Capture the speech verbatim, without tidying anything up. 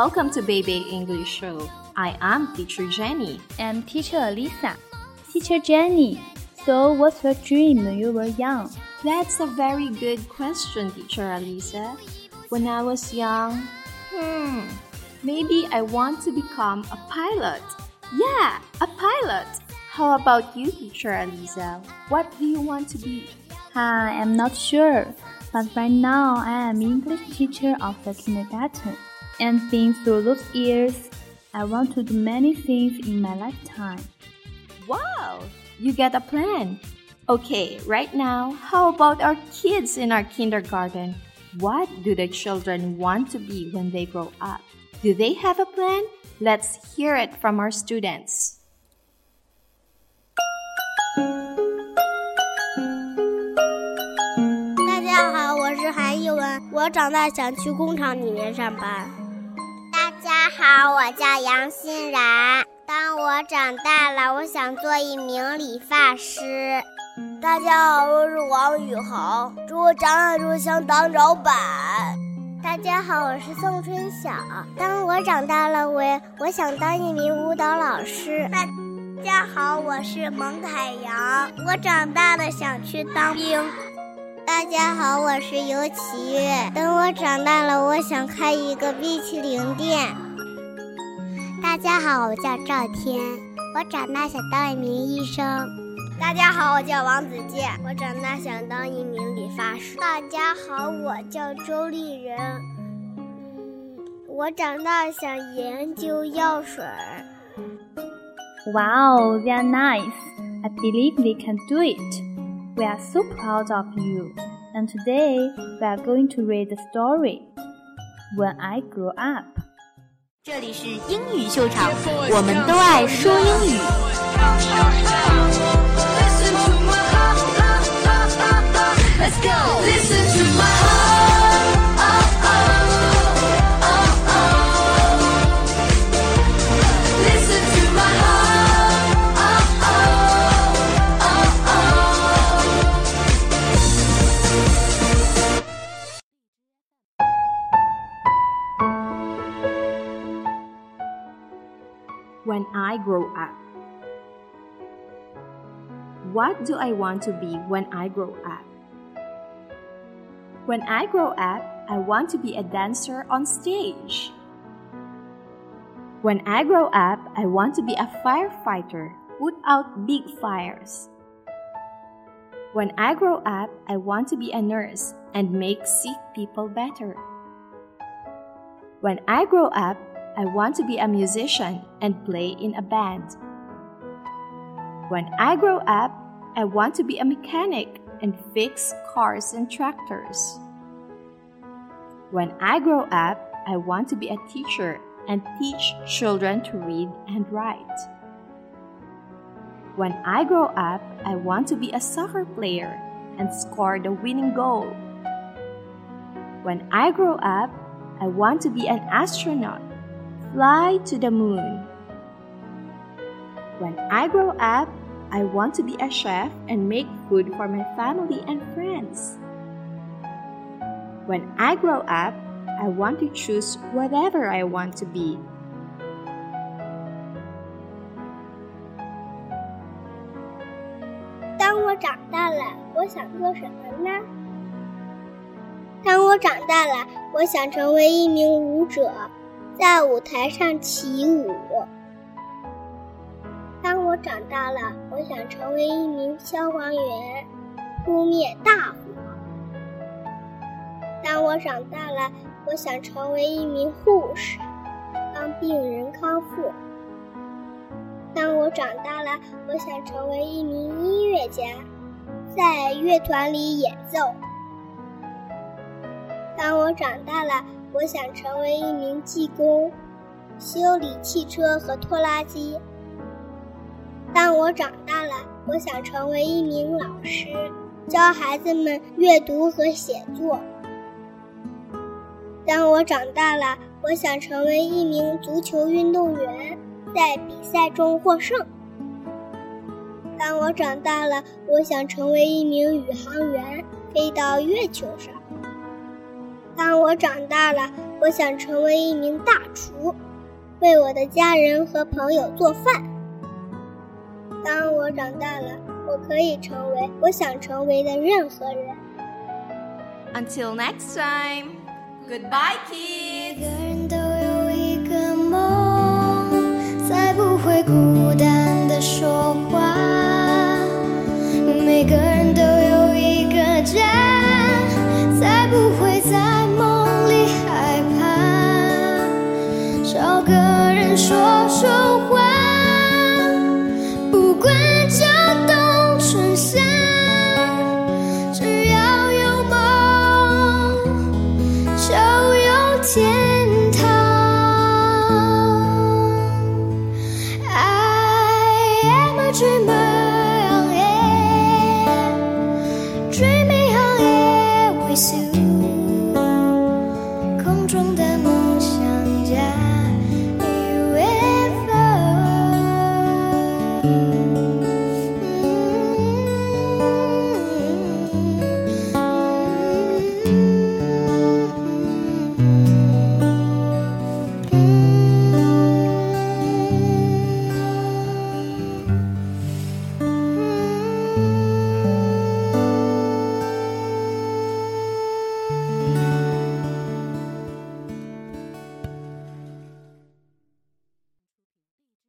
Welcome to Baby English Show. I am Teacher Jenny. And Teacher Alisa. Teacher Jenny, so what's your dream when you were young? That's a very good question, Teacher Alisa. When I was young, hmm, maybe I want to become a pilot. Yeah, a pilot. How about you, Teacher Alisa? What do you want to be? I am not sure, but right now I am English teacher of the kindergarten. And been through those years, I want to do many things in my lifetime. Wow, you get a plan. Okay, right now, how about our kids in our kindergarten? What do the children want to be when they grow up? Do they have a plan? Let's hear it from our students. 大家好，我是韩艺文，我长大想去工厂里面上班。 大家好，我叫杨欣然。当我长大了，我想做一名理发师。 大家好，我是王宇豪，祝我长大之后想当老板。 大家好，我是宋春晓。当我长大了，我我想当一名舞蹈老师。 大家好，我是蒙凯阳，我长大了想去当兵。 大家好，我是尤启月。等我长大了，我想开一个冰淇淋店。大家好，我叫赵天，我长大想当一名医生。 大家好，我叫王子健，我长大想当一名理发师。 大家好，我叫周丽人，嗯，我长大想研究药水。 Wow, they are nice. I believe we can do it. We are so proud of you. And today, we are going to read the story, When I Grow Up. 这里是英语秀场，我们都爱说英语。Let's go. Listen to my heart. Oh, oh, oh, oh. Listen to my heart. Oh, oh, oh, oh. When I grow up. What do I want to be when I grow up? When I grow up, I want to be a dancer on stage. When I grow up, I want to be a firefighter, put out big fires. When I grow up, I want to be a nurse and make sick people better. When I grow up, I want to be a musician and play in a band. When I grow up, I want to be a mechanic and fix cars and tractors. When I grow up, I want to be a teacher and teach children to read and write. When I grow up, I want to be a soccer player and score the winning goal. When I grow up, I want to be an astronaut, fly to the moon. When I grow up, I want to be a chef and make food for my family and friends. When I grow up, I want to choose whatever I want to be. 当我长大了，我想做什么呢？当我长大了，我想成为一名舞者，在舞台上起舞。当我长大了，我想成为一名消防员，扑灭大火。当我长大了，我想成为一名护士，帮病人康复。当我长大了，我想成为一名音乐家，在乐团里演奏。当我长大了，我想成为一名技工，修理汽车和拖拉机。当我长大了，我想成为一名老师，教孩子们阅读和写作。当我长大了，我想成为一名足球运动员，在比赛中获胜。当我长大了，我想成为一名宇航员，飞到月球上。 当我长大了，我想成为一名大厨，为我的家人和朋友做饭。当我长大了，我可以成为我想成为的任何人。 Until next time, goodbye, kids. 每个人都有一个梦，才不会孤单地说话。每个人都有一个家，才不会在梦里害怕。找个人说说话，不管秋冬春夏，只要有梦，就有天堂。I am a dreamer, yeah, dreaming on air with you.